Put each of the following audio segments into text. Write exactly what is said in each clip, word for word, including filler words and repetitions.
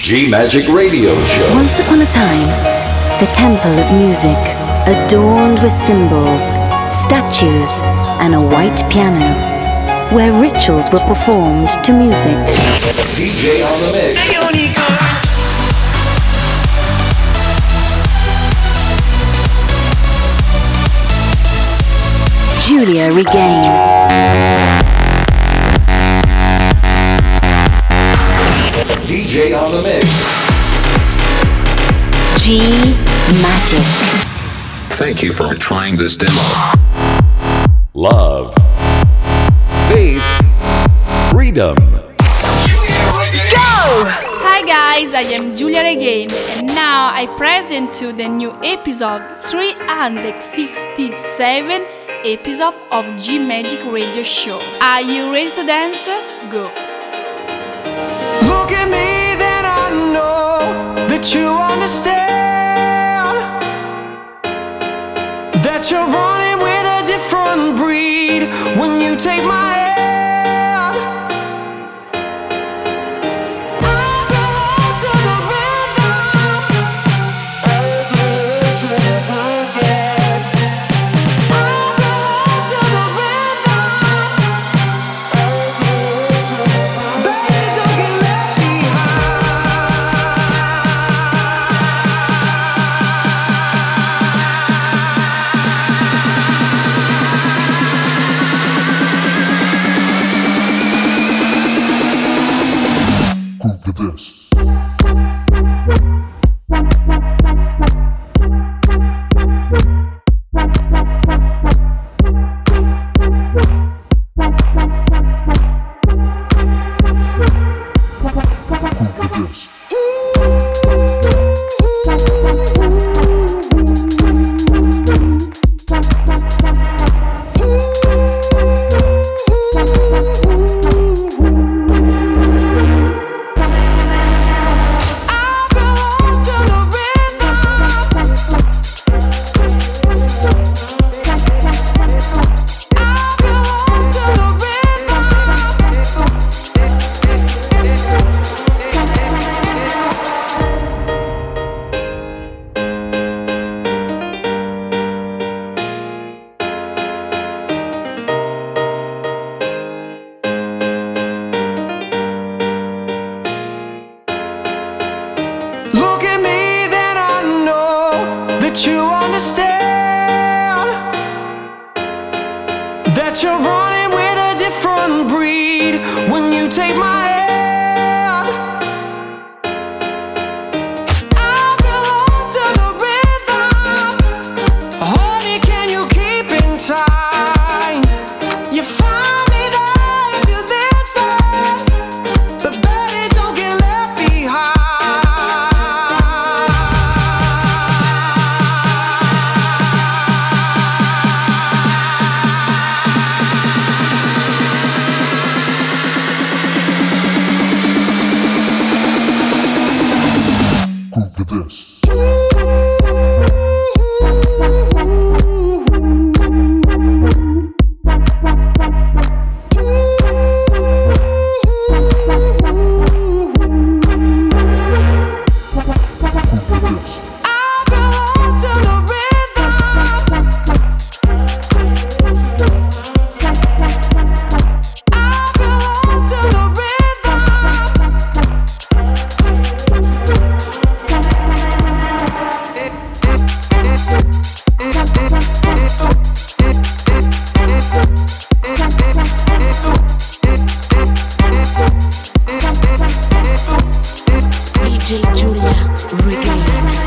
G-Magic Radio Show. Once upon a time, the temple of music, adorned with symbols, statues, and a white piano, where rituals were performed to music. D J on the mix. Giulia Regain. D J on the mix. G-Magic. Thank you for trying this demo. Love. Faith. Freedom. Go! Hi guys, I am Giulia Regain and now I present to the new episode three hundred sixty-seven episode of G-Magic Radio Show. Are you ready to dance? Go! Look at me, then I know that you understand that you're running with a different breed when you take my hand. I belong to the rhythm. I belong to the rhythm. Baby, don't get left behind. Groove to this. Groove to this. I belong to the rhythm. I belong to the Look at me, then I know that you understand that you're running with a different breed when you take my hand. I belong to the rhythm. Honey, can you keep in time? You find me there if you listen, but baby, don't get left behind. Groove to this. Groove to this. I belong to the rhythm. I belong to the D J Giulia Regain.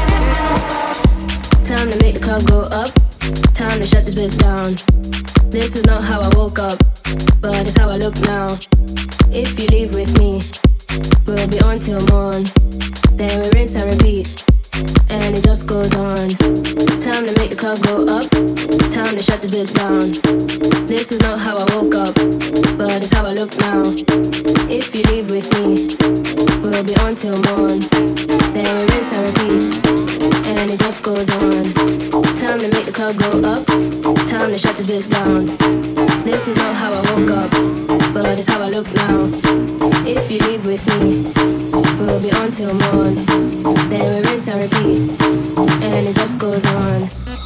Time to make the club go up. Time to shut this bitch down. This is not how I woke up, but it's how I look now. If you leave with me, we'll be on till morn. Then we rinse and repeat, and it just goes on. Time to make the club go up. Time to shut this bitch down. This is not how I woke up, but it's how I look now. If you leave with me, we'll be on till morn. Then we rinse and repeat, and it just goes on. Time to make the club go up. Time to shut this bitch down. This is not how I woke up, but it's how I look now. If you leave with me, we'll we'll be on till morn. Then we rinse and repeat, and it just goes on.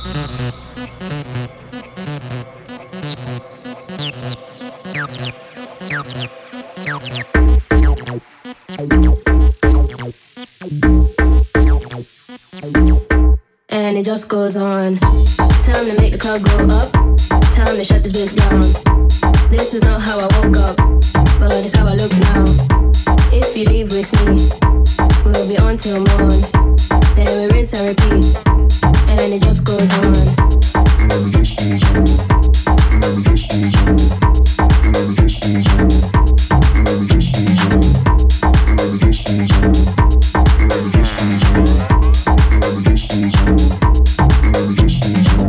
And it just goes on. Time to make the crowd go up. Time to shut this bitch down. This is not how I woke up, but it's how I look now. If you leave with me, we'll be on till morn. Then we rinse and repeat, and it just goes on. And it just goes on. And it just goes on. And it just goes on. And it just goes on. And it just goes on. And it just goes on. And it just goes on. And it just goes on.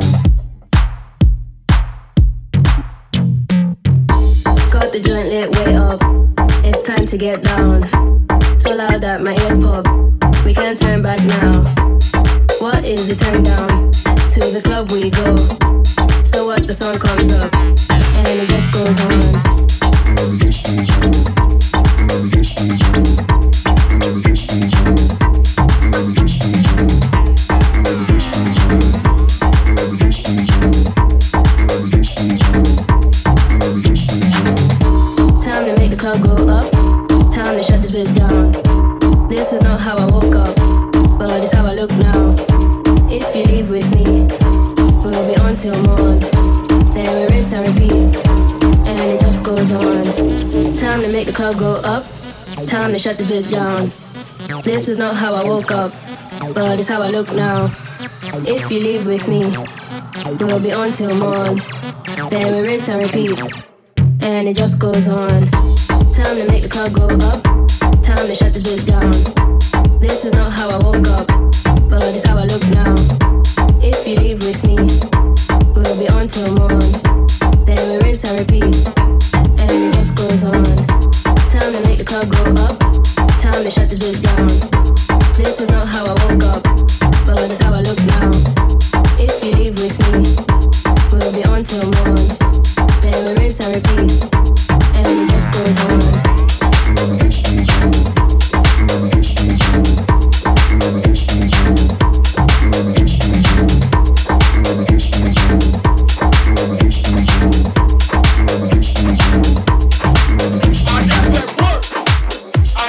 Got the joint lit way up. It's time to get down. So loud that my ears pop. We can't turn back now. What is the turn down? To the club we go. So what, the song comes up, and it just goes on. And it just goes on. And it just goes on. And it just goes on. And it just goes on. And it just goes on. And it just goes on. And it just goes on. And it just goes on. Time to make the crowd go up. Time to shut this bitch down. This is not how I woke up, but it's how I look now. If you leave with me, we'll be on till morn. Then we rinse and repeat, and it just goes on. Time to make the crowd go up. Time to shut this bitch down. This is not how I woke up, but it's how I look now. If you leave with me, we'll be on till morn. Then we rinse and repeat, and it just goes on. Time to make the crowd go up. Time to shut this bitch down. This is not how I woke up, but it's how I look now. If you leave with me, we'll be on till morn. Then we rinse and repeat, and it just goes on. Time to make the crowd go up. Time to shut this bitch down. This is not how I woke up, but it's how I look now. If you leave with me, we'll be on till morn. Then we rinse and repeat, and it just goes on. And it just goes on. And it just goes on. And it just goes on. And it just goes on. And it just goes on. And it just goes on. And it just goes on. And it just goes on. I got that work. I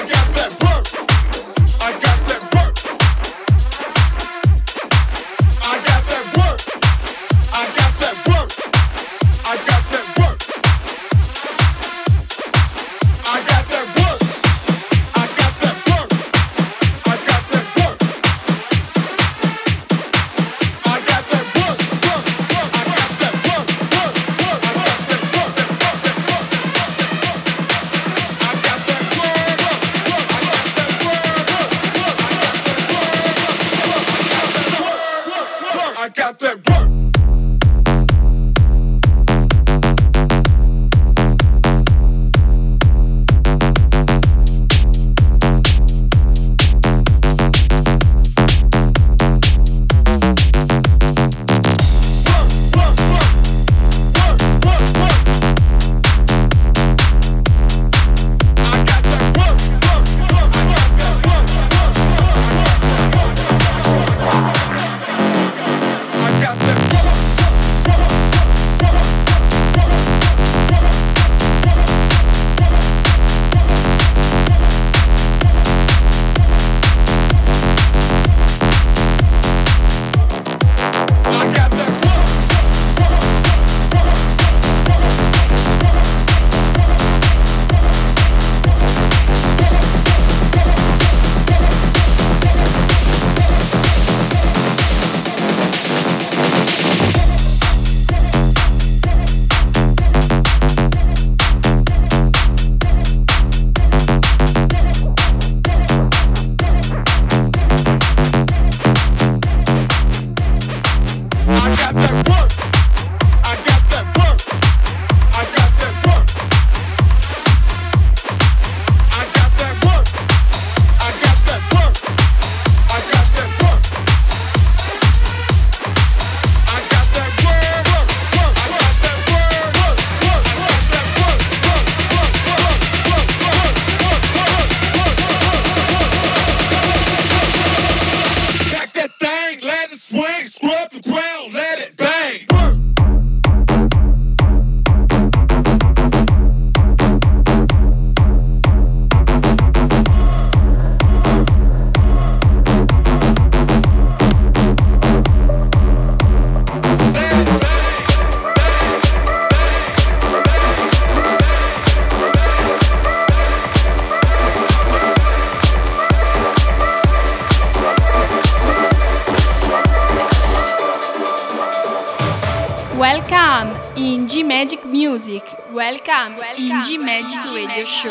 music. Welcome, in G Magic Radio Show.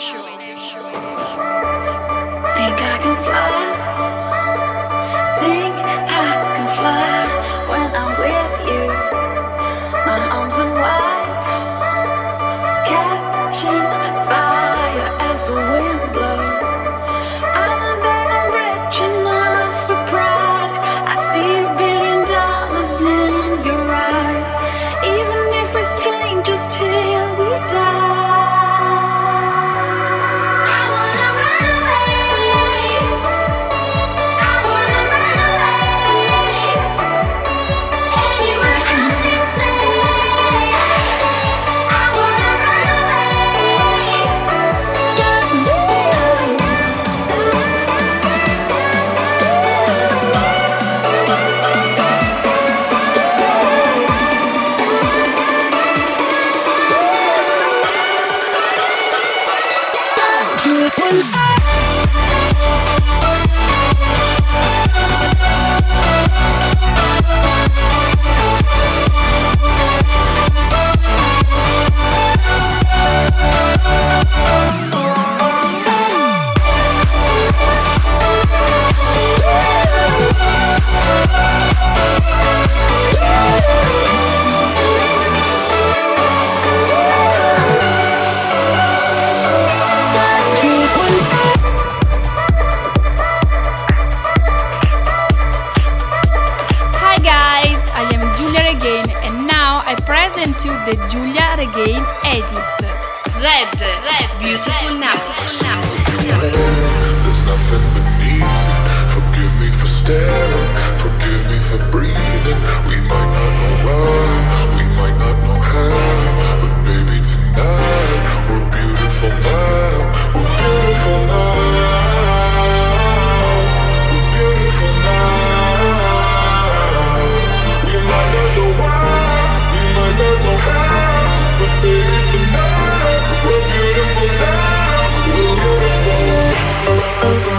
Think I can fly. Think I can fly when I'm with you. My arms are wide, catching fire as the wind blows. I'm not rich enough for pride. I see a billion dollars in your eyes. Even if we're strangers till we die. I wanna run away. I wanna run away. Anywhere in this place. I wanna run away. Just you. Hi guys, I am Giulia Regain and now I present to the Giulia Regain edit. Red, red, beautiful now. There's nothing beneath it. Forgive me for staring, forgive me for breathing. We might not know why, we might not know how, but baby tonight we're beautiful now. We're beautiful now. We're beautiful now. We might not know why, we might not know how, but baby tonight we're beautiful now. We're beautiful.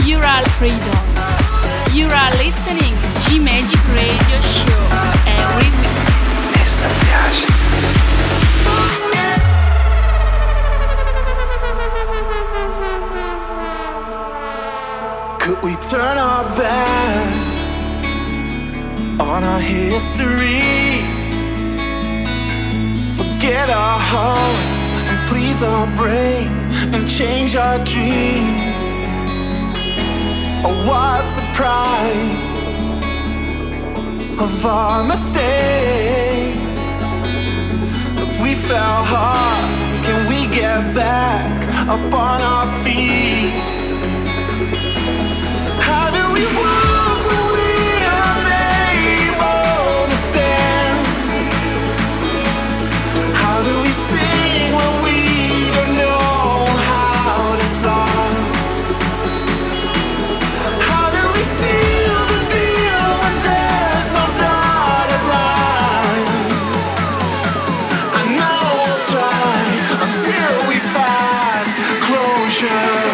Ural Freedom. You are listening G Magic Radio Show every week. Essa piace. Could we turn our back on our history? Forget our hearts and please our brain and change our dreams. Or what's the price of our mistakes? As we fell hard, can we get back up on our feet? How do we walk when we are unable to stand? How do we sing when we don't know how to talk? How do we seal the deal when there's no dotted line? I know we'll try until we find closure.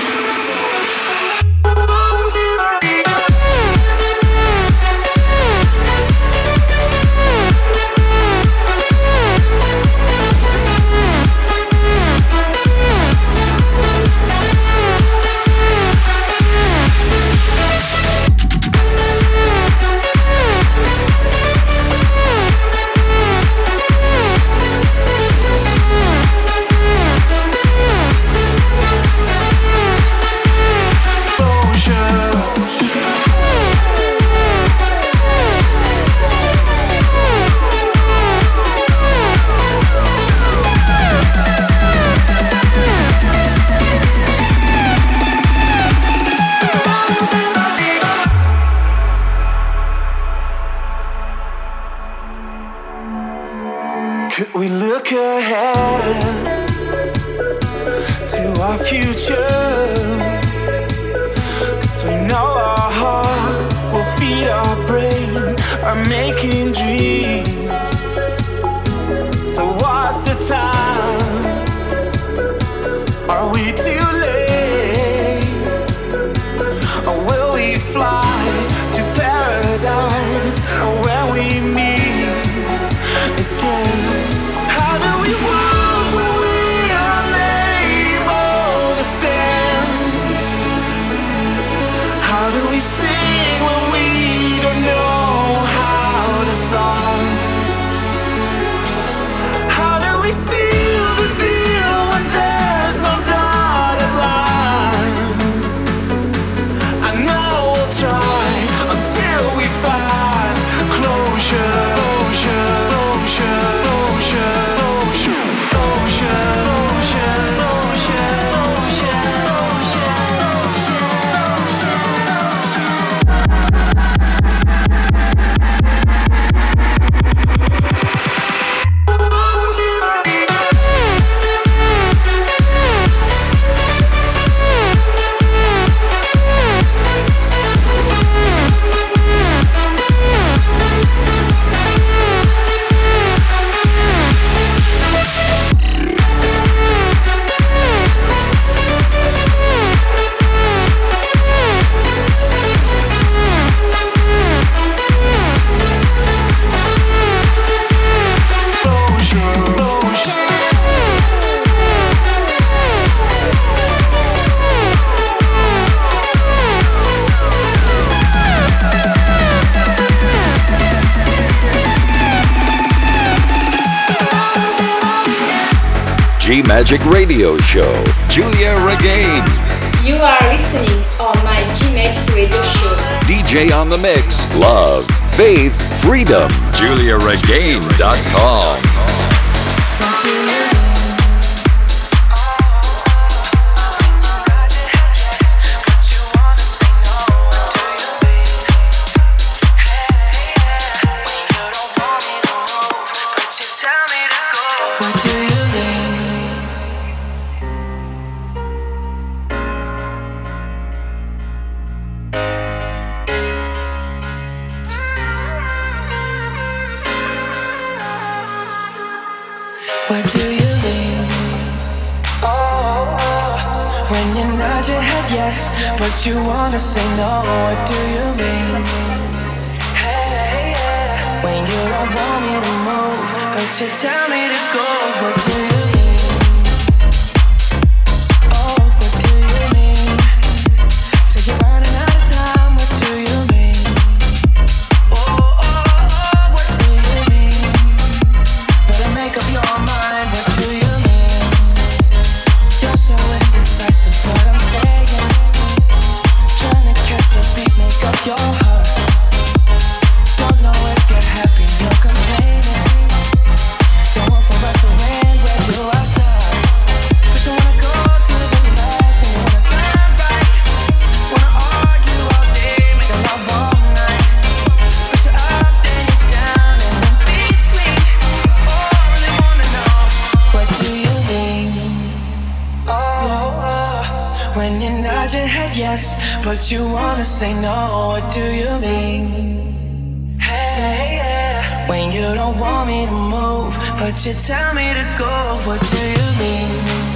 Could we look ahead to our future? 'Cause we know our heart will feed our brain by making dreams. So what's the time? Are we too late? Or will we fly to paradise when we meet again? How do we walk when we are unable to stand? How do we sing when we don't know how to talk? How do we seal the deal when there's no dotted line? I know we'll try until we find closure, closure, closure, closure, closure, closure, closure, closure, G Magic Radio Show. Giulia Regain. You are listening on my G Magic Radio Show. D J on the mix. Love, faith, freedom. Giulia Regain dot com. Where do you lean? Oh, when you're nod your head yes, but you wanna say no. What do you mean? Hey, yeah. When you don't want me to move, but you tell me to go. What do you mean? Oh, what do you mean? Said you're running out of time. What do you mean? Oh, oh, oh, what do you mean? Better make up your mind. What do you mean? You're so indecisive, what I'm saying. Trying to catch the beat, make up your heart. Don't know if you're happy, you're complaining. Don't want for us to win, where do I start? First you wanna go to the left, then you wanna turn right. Wanna argue all day, make love all night. First you're up, then you're down, and in between. Oh, I really wanna know, what do you mean? Oh, oh, when you nod your head yes, but you wanna say no. What do you mean? Hey, yeah. When you don't want me to move, but you tell me to go. What do you mean?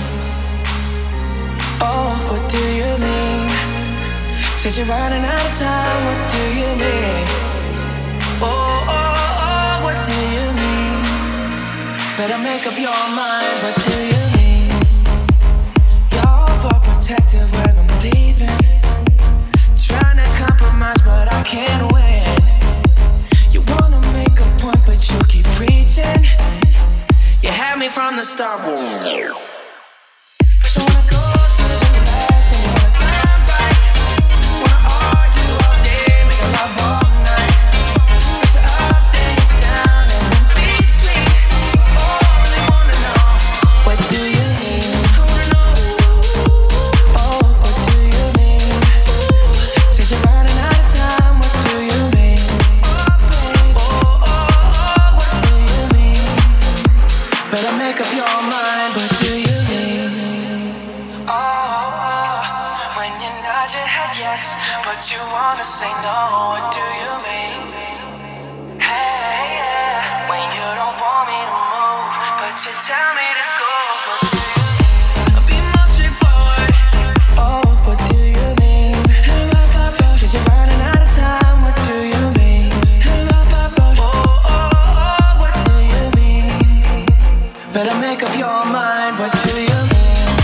Oh, what do you mean? Said you're running out of time. What do you mean? Oh, oh, oh, what do you mean? Better make up your mind. What do you mean? You're overprotective when I'm leaving. Trying to compromise, but I can't win. You wanna make a point, but you keep preaching. You had me from the start. First you wanna go to the left, then you wanna turn right. Wanna argue all day, make love all night. First you're up, then you're down, and in between. Oh, I really wanna know, what do you mean? I wanna know. Oh, what do you mean? Since you're running out of time, what do you mean? Oh, baby. Oh, oh, oh, what do you mean? Better make up your mind. What do you mean? Oh, oh, when you nod your head yes, but you wanna say no. What do you mean? Hey, yeah. When you don't want me to move, but you tell me to go. What do you mean? I'll be more straightforward. Oh, what do you mean? Said you're running out of time. What do you mean? Oh, oh, oh, what do you mean? Better make up your mind. What do you mean?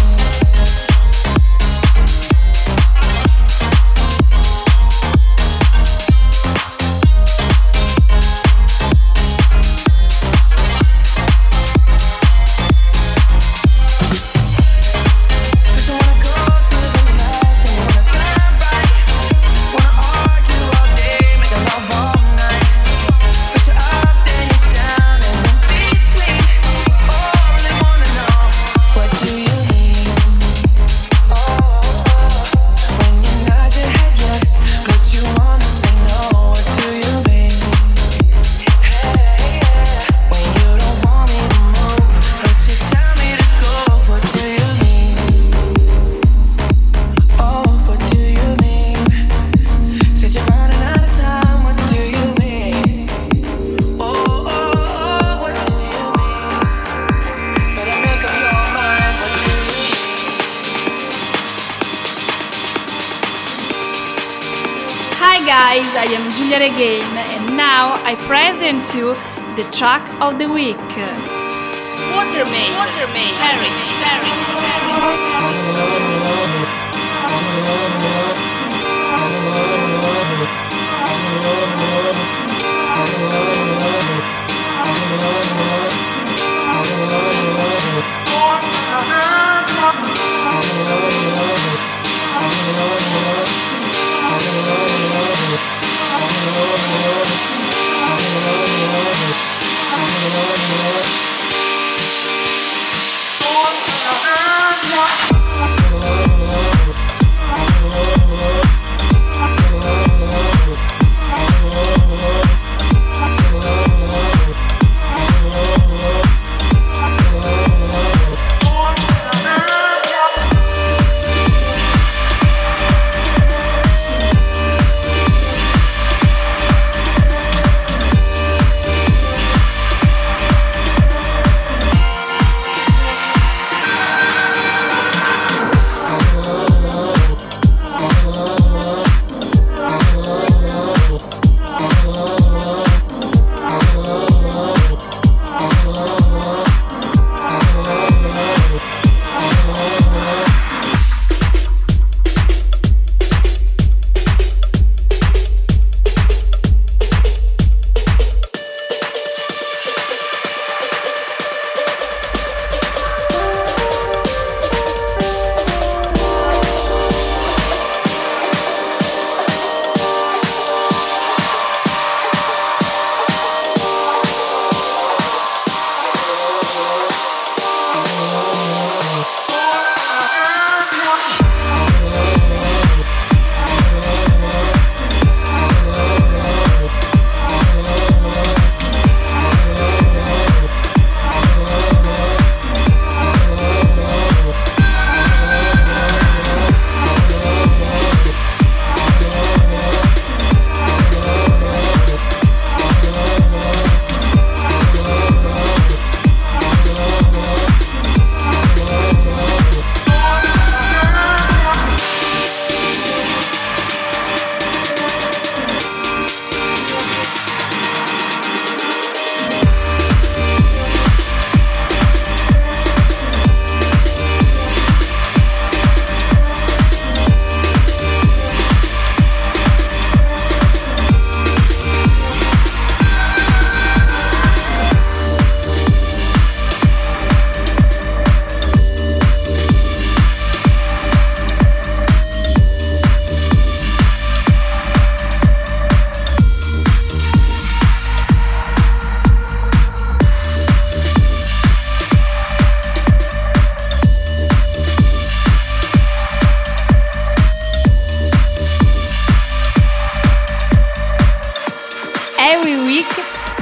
First you wanna go to the left, then you wanna turn right. Wanna argue all day, make love all night. First you're up, then you're down, and in between. Oh, I really wanna know, what do you mean? Oh, oh, when you nod your head yes, but you wanna say no. What do you mean? Hey, yeah. When you don't want me to move, but you tell me to go. What do you mean? Oh, what do you mean? Said you're running out of time. What do you mean? Oh, oh, oh, what do you mean? Better make up your mind. What do you mean? Hi guys, I am Giulia Regain and now I present you the track of the week. Watermaid, Watermaid, Paris, Paris, Paris. Oh,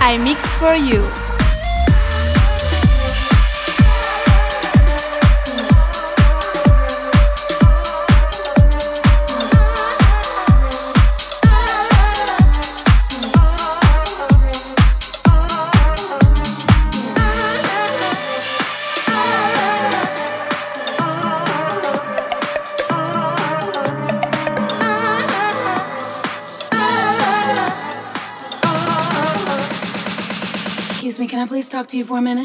I mix for you. Excuse me, can I please talk to you for a minute?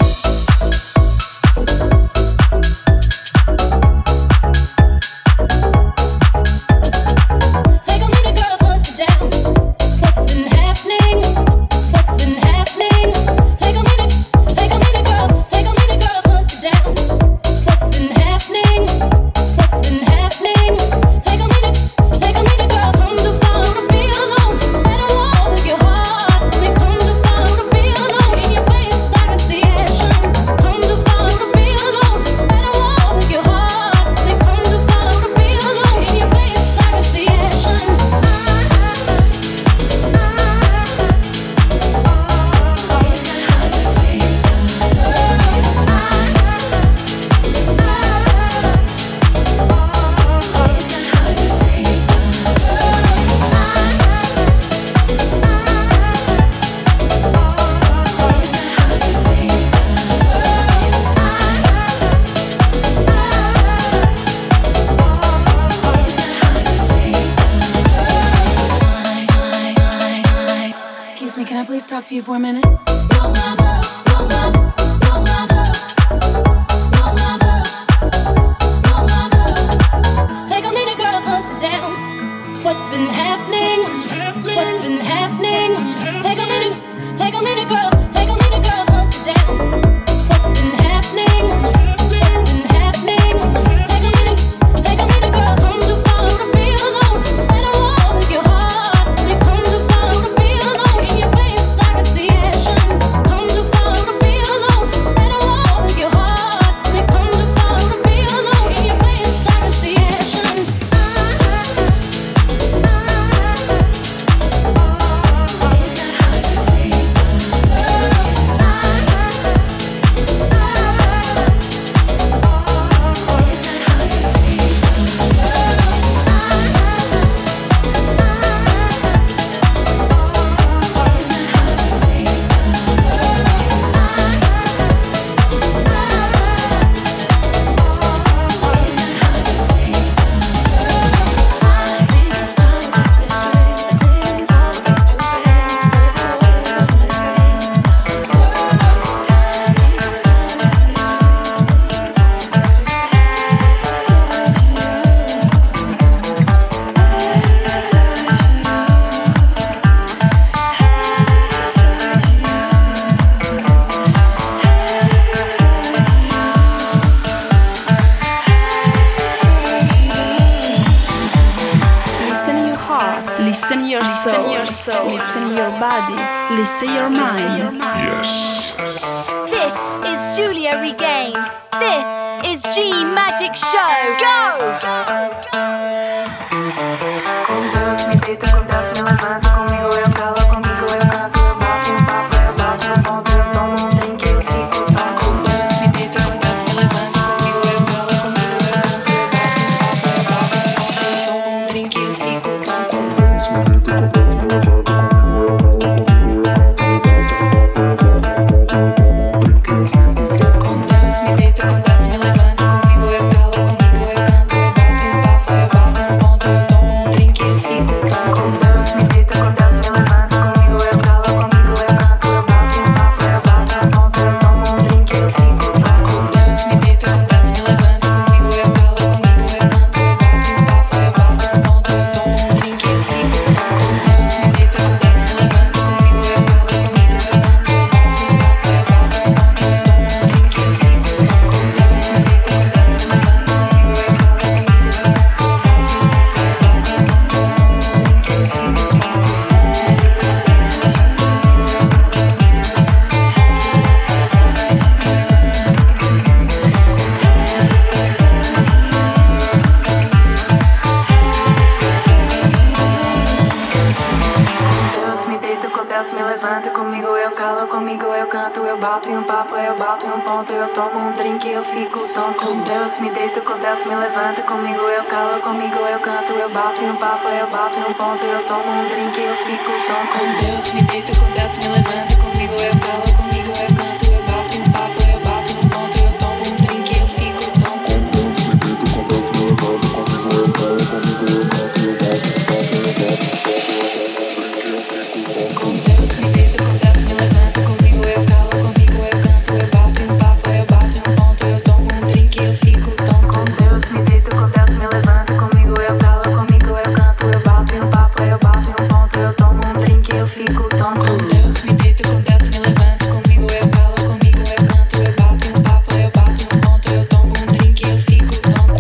Talk to you for a minute. You're my girl, you're my, you're my girl, you're my girl, you're my girl. Take a minute, girl, come sit down. What's been happening? What's been happening? Take a minute, take a minute, girl, take a minute, girl, come sit down. What's been happening? What's been happening? Take a minute, take a minute, girl, come to follow the feel alone. Let her walk with your heart. It come to follow the feel alone in your face. Come to follow the feel alone. Let her walk with your heart. They come to follow the feel alone in your face. I can see action. It's not hard to say. It's not. It's not hard to say. Listen your soul, your soul. Listen your body, listen your mind. Yes. This is Julia Regain. This is G Magic Show. Go! Com Deus me deito, com Deus me levanto, comigo eu calo, comigo eu canto, eu bato um papo, eu bato um ponto, eu tomo um drink, eu fico tão. Com Deus me deito, com Deus me levanto, comigo eu calo, comigo eu canto, eu bato um papo, eu bato um ponto, eu tomo um drink, eu fico tão. Com Deus me deito, com Deus me levanto, comigo eu calo, comigo eu canto, eu bato um papo, eu bato um ponto, eu tomo um drink, eu fico tão. Com Deus me deito, com Deus me levanto, comigo eu calo, comigo eu canto, eu bato um papo, eu bato um ponto, eu tomo um drink, eu fico tão. Com Deus me deito, com Deus me levanto, comigo eu calo, comigo eu canto, eu bato um papo, eu bato um ponto, eu tomo um drink. desce, me levanta, comigo eu calo, comigo eu canto, eu bato em um papo, eu bato em um ponto, eu tomo um drink, eu fico tonto. Com Deus me deito, com Deus me levanta, comigo eu calo, comigo eu canto, eu bato em um papo, eu bato em um ponto, eu tomo um drink, eu fico tonto. Com Deus me deito, com Deus me levanta, comigo eu calo, comigo eu canto, eu bato em um papo, eu bato em um ponto, eu tomo um drink, eu fico tonto. Com Deus me deito, com Deus me levanta, comigo eu calo, comigo eu canto, eu bato em um papo, eu bato em um ponto, eu tomo um drink, eu fico tonto. Com Deus me deito, com Deus me levanta, comigo eu calo, comigo eu canto, eu bato em um papo, eu bato em um ponto, eu tomo um drink, eu fico tonto. Com Deus me deito, com Deus me levanta, comigo eu calo, comigo eu canto, eu bato em um papo, eu bato em um ponto, eu tomo um drink, eu fico tonto.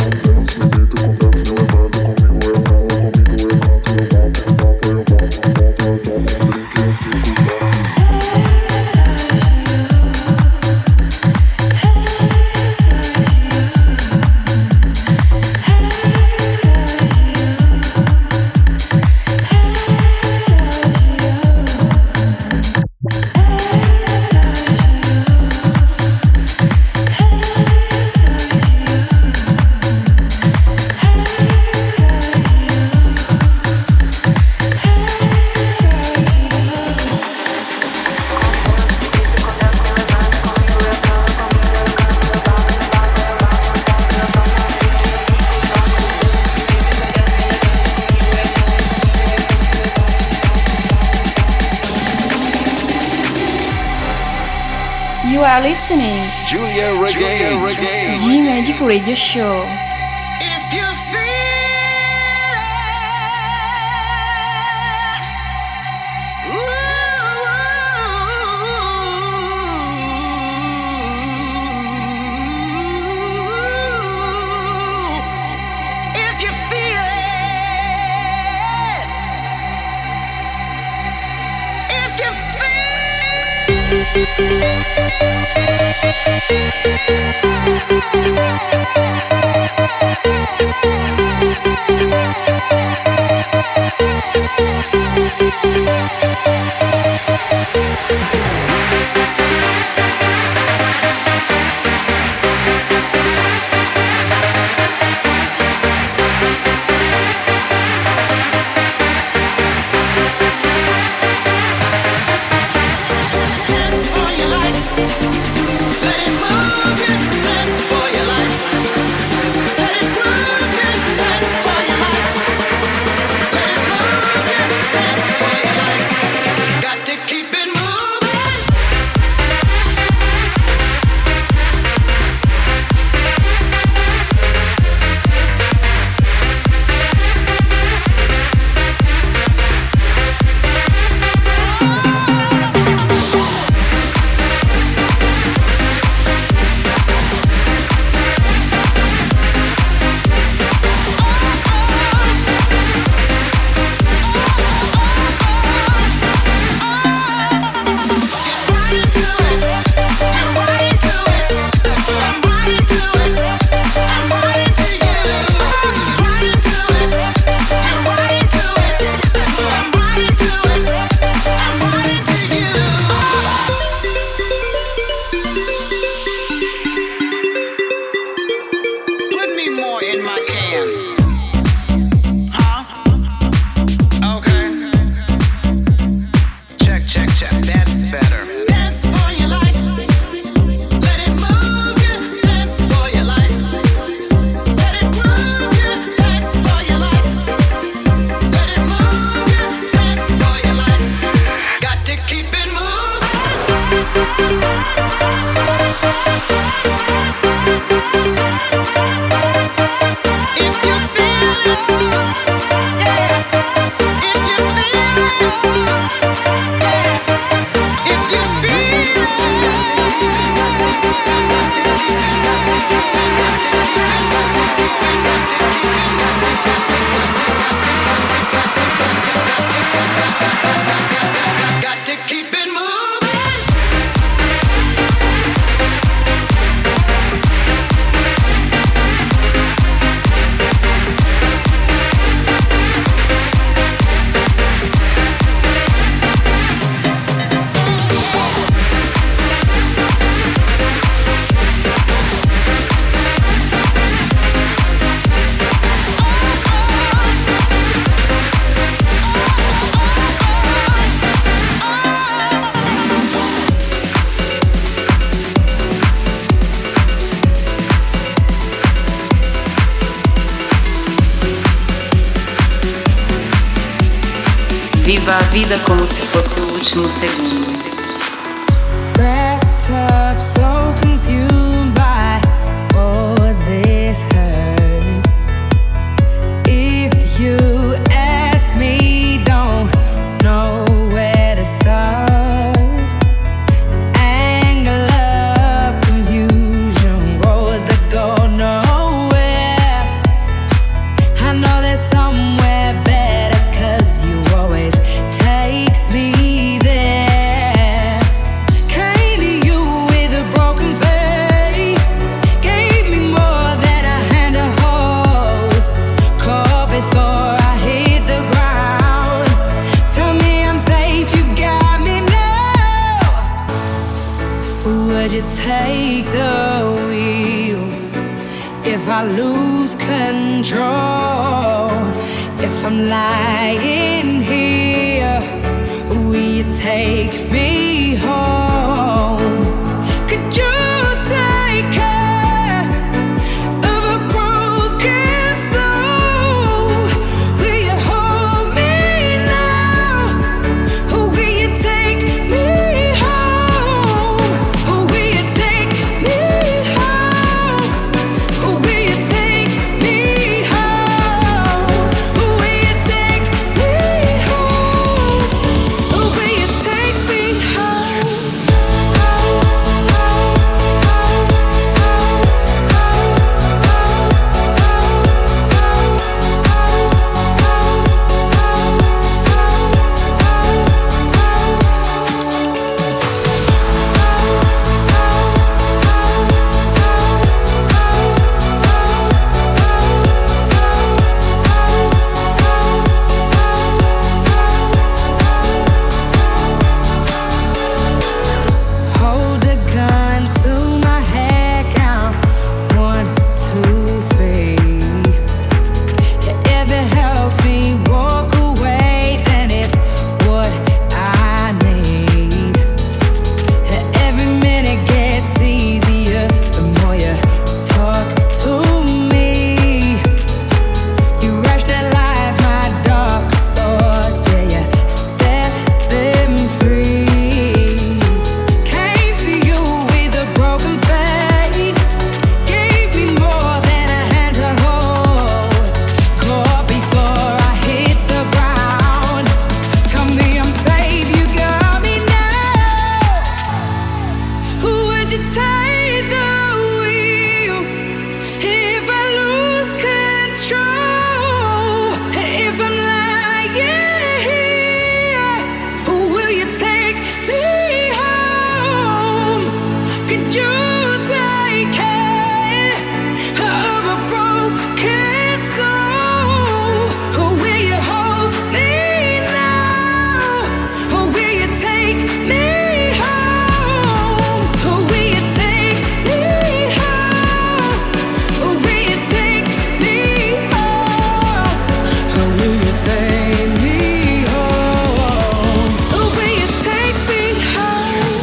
You are listening Giulia Regain. G Magic Radio Show. If you feel it, if you feel it, if you dance for your life. Let it move you, dance for your life. Let it move you, dance for your life. Let it move you, dance for your life. Got to keep it moving. Viva a vida como se fosse o último segundo. Wrapped up, so consumed by all this hurt. If you ask me, don't know where to start. Anger, love, confusion, roads that go nowhere. I know there's somewhere better, 'cause you always take me there. Came to you with a broken faith, gave me more than a hand to hold. Caught before I hit the ground. Tell me I'm safe, you got me now. Would you take the wheel if I lose control? If I'm lying here, will you take me home? Could you take care of a broken soul? Will you hold me now? Or will you take me home? Or will you take me home? Or will you take me home? Or will you take me home? Or will you take me home? Hold a gun to my head, count one, two, three. If it helps me walk away, then it's what I need. Every minute gets easier the more you talk to me. You rationalize my darkest thoughts, yeah, you set them free. Came to you with a broken faith, gave me more than a hand to hold. Caught before I hit the ground. Tell me I'm safe, you got me now. Would you take the wheel if I lose control? If I'm lying here, will you take me home? Could you take care of a broken soul? Or will you hold me now? Or will you take me home? Or will you take me home? Or will you take me home? Or will you take me home? Or will you take me home?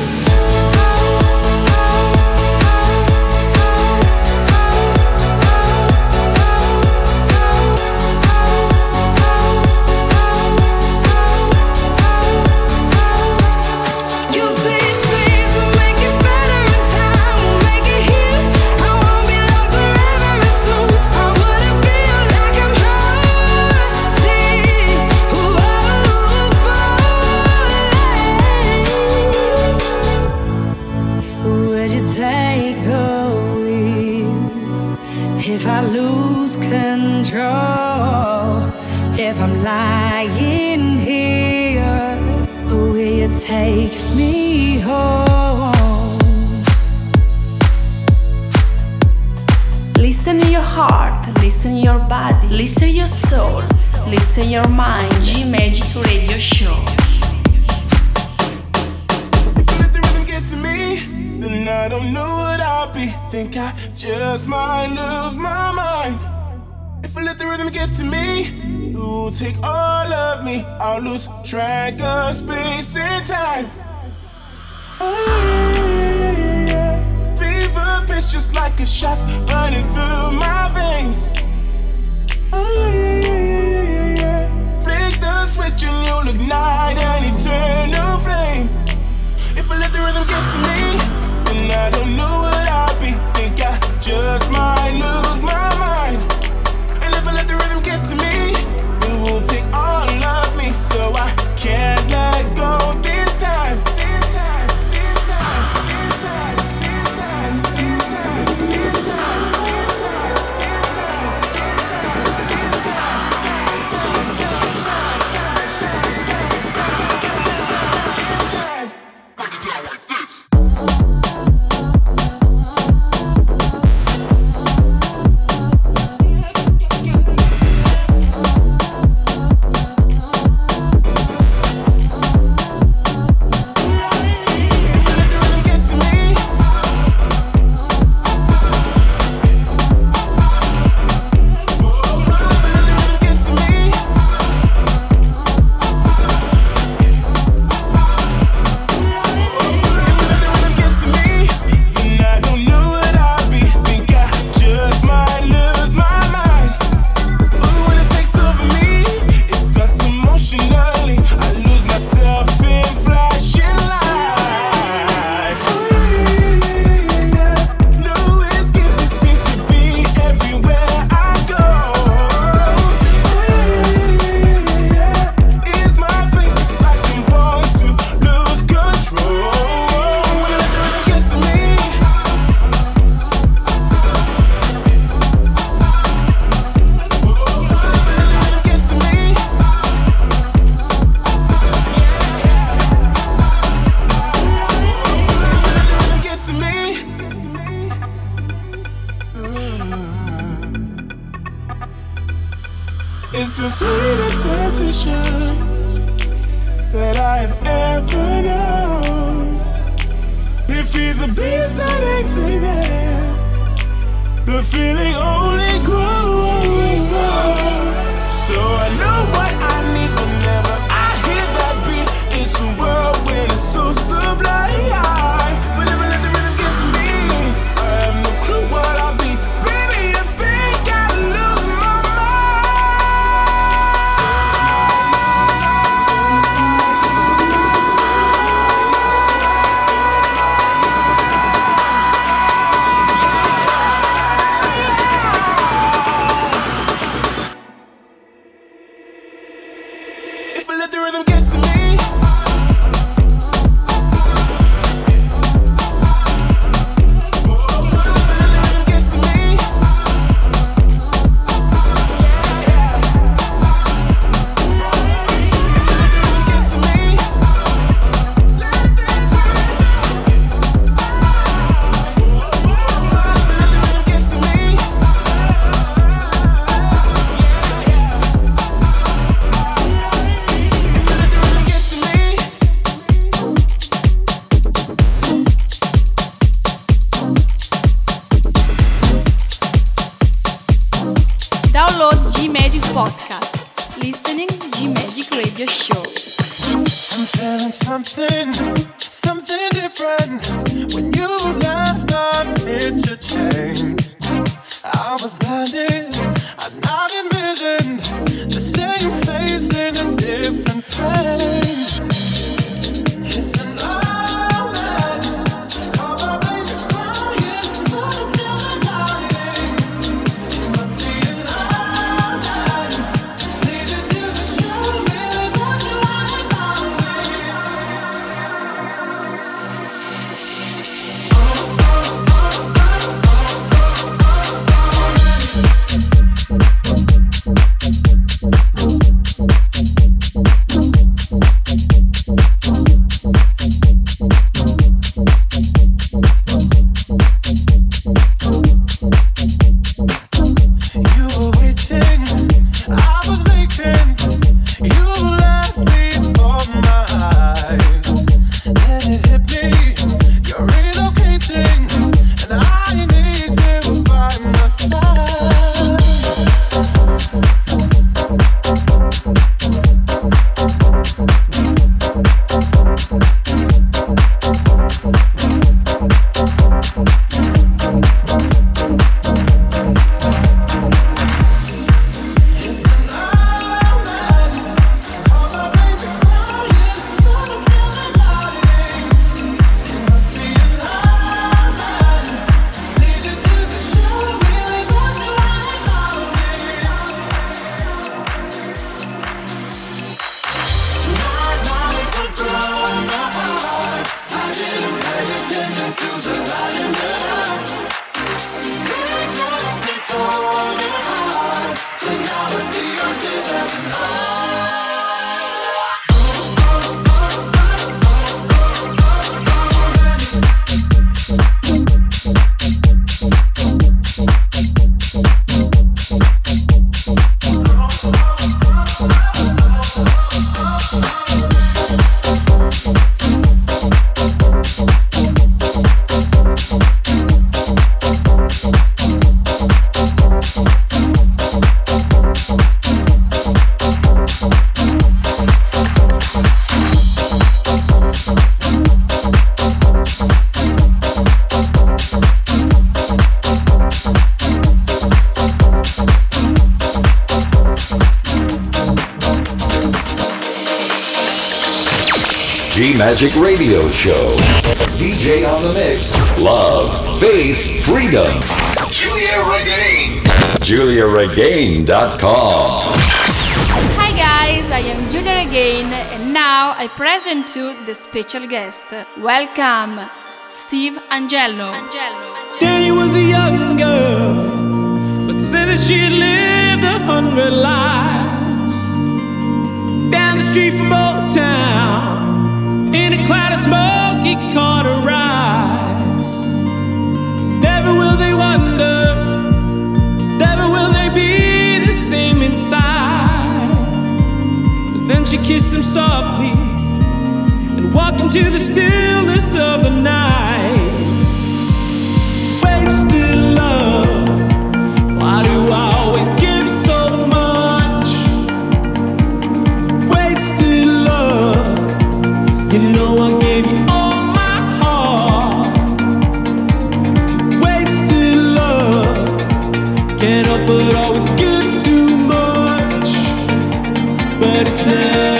You say space will make it better in time, will make it heal. I won't be lost forever and soon. I wouldn't feel like I'm hurting. Whoa, would you take the wheel if I lose control? If I'm lying here, will you take me home? Listen your heart, listen your body, listen your soul, listen your mind. G Magic Radio Show. If the rhythm gets to me, then I don't know what I'll be. Think I just might lose my mind. If I let the rhythm get to me, it will take all of me. I'll lose track of space and time. Oh, yeah, yeah, yeah. Fever pitch just like a shot running through my veins. Oh, yeah, yeah, yeah, yeah, yeah, yeah. Flick the switch and you'll ignite sensation that I have ever known. If he's a beast that ain't there, the feeling only grows. So I know what I need whenever I hear that beat. It's a world where it's so sublime. Whenever let the rhythm get to me, I have no clue what I'll be. Baby, I think I lose my if I let the rhythm get to me. Download G-Magic Podcast. Listening G-Magic Radio Show. I'm feeling something, something different. When you left, the picture changed. I was blinded, I'd not envisioned the same face in a different frame. It's an omen, call my baby crying, so the silver lining. It must be an omen, needed you to show me what you want about me. You were waiting, I was vacant. You left me for my eyes. Then it hit me, you're relocating, and I need you by my side. It's an omen, call my baby crying, so the silver lining. It must be an omen, needed you to show me what you want about me. Not like a grown up, I didn't pay attention to the light in the eye. Really left me torn apart, but now I see your tears as an G-Magic Radio Show. D J on the mix. Love, faith, freedom. Julia Regain. Julia Regain dot com. Hi guys, I am Julia Regain and now I present to the special guest. Welcome, Steve Angello. Danny was a young girl, but said that she had lived a hundred lives. Down the street from Old Town, in a cloud of smoke, he caught her eyes. Never will they wonder, never will they be the same inside. Then she kissed him softly and walked into the stillness of the night. Wasted love, why do I always give so much? Wasted love, you know I gave you all my heart. Wasted love, can't help but always give too much, but it's never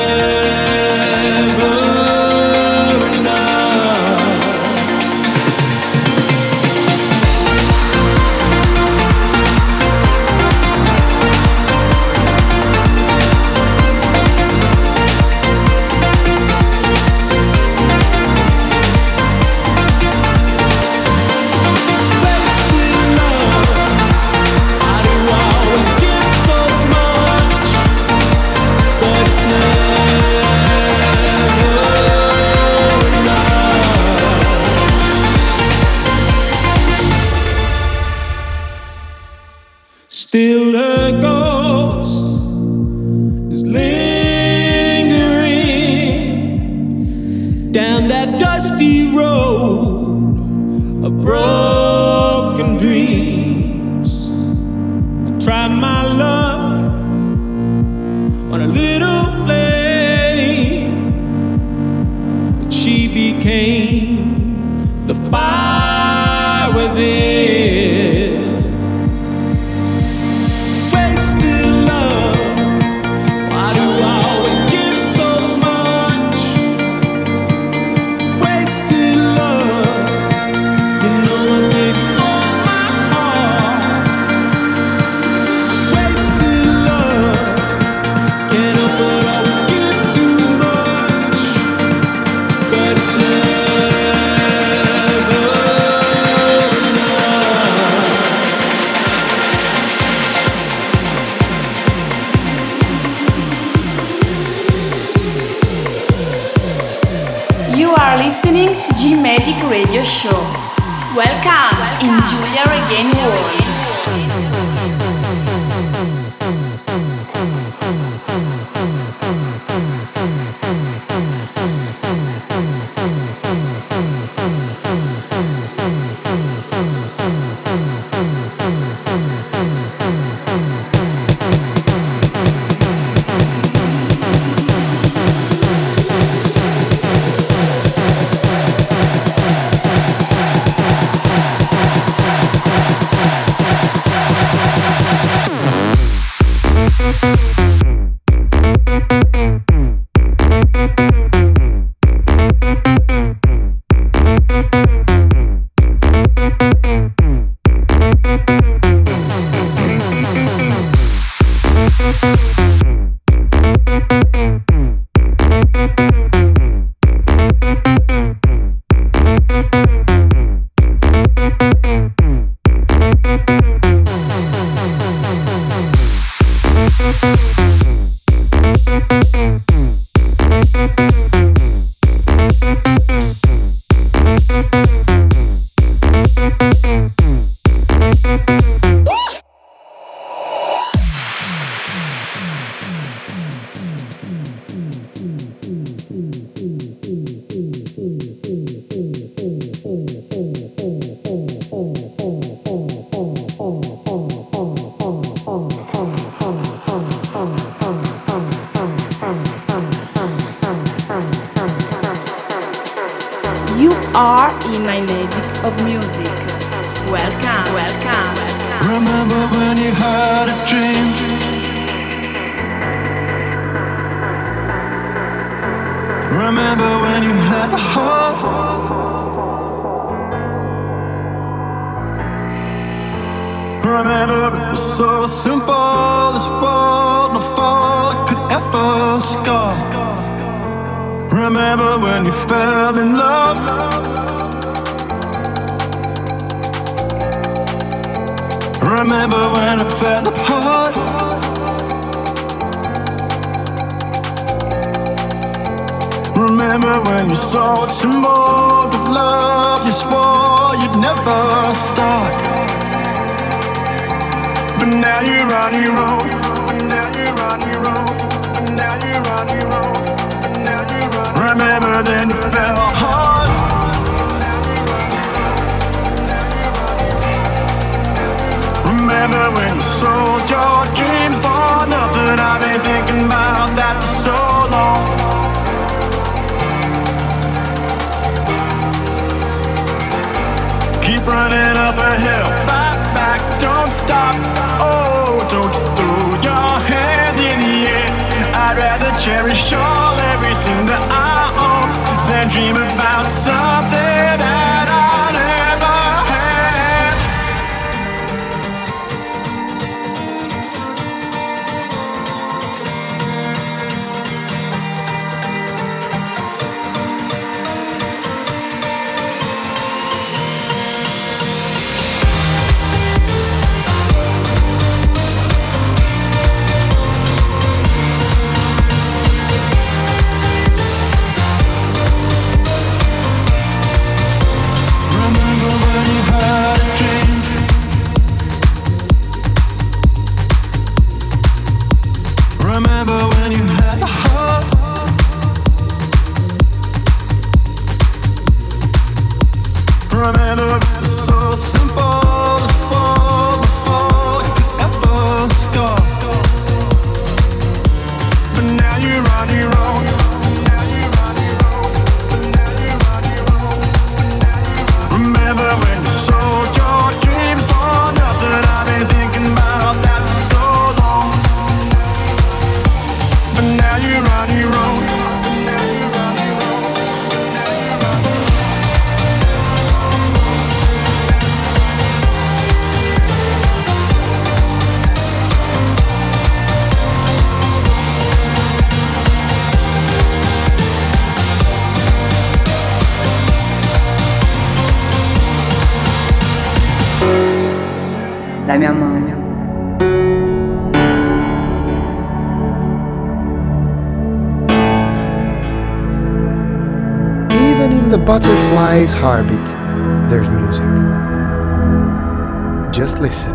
still a ghost is lingering down that dusty road of broken dreams. I tried my luck on a little flame, but she became the fire within. Listening G-Magic Radio Show. Welcome, Welcome in Giulia Regain World. You are in my magic of music. Welcome, welcome, welcome. Remember when you had a dream? Remember when you had a heart? Remember it was so simple, this world, no fall could ever scar. Remember when you fell in love? Remember when it fell apart? Remember when you saw a symbol of love you swore you'd never start? But now you're on your own. But now you're on your own. But now now you're on your own. Now you're on. Remember then you fell hard. Remember when you sold your dreams for nothing? I've been thinking about that for so long. Keep running up a hill, fight back, don't stop. Oh, don't throw your hands in the air. I'd rather cherish all everything that I own than dream about something that I never had. Remember when you had a heart? Remember it was so simple to fall before you could ever score. But now you're on your own. Now you're on your own. Now you're on your own. Remember when you sold your dreams for nothing? I've been thinking about that for so long. But now you're on your own. Now you're on your own. Now you're on your own. Dai-mi a mano. Even in the butterfly's heartbeat, there's music. Just listen.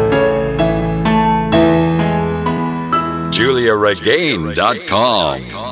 Julia Regain dot com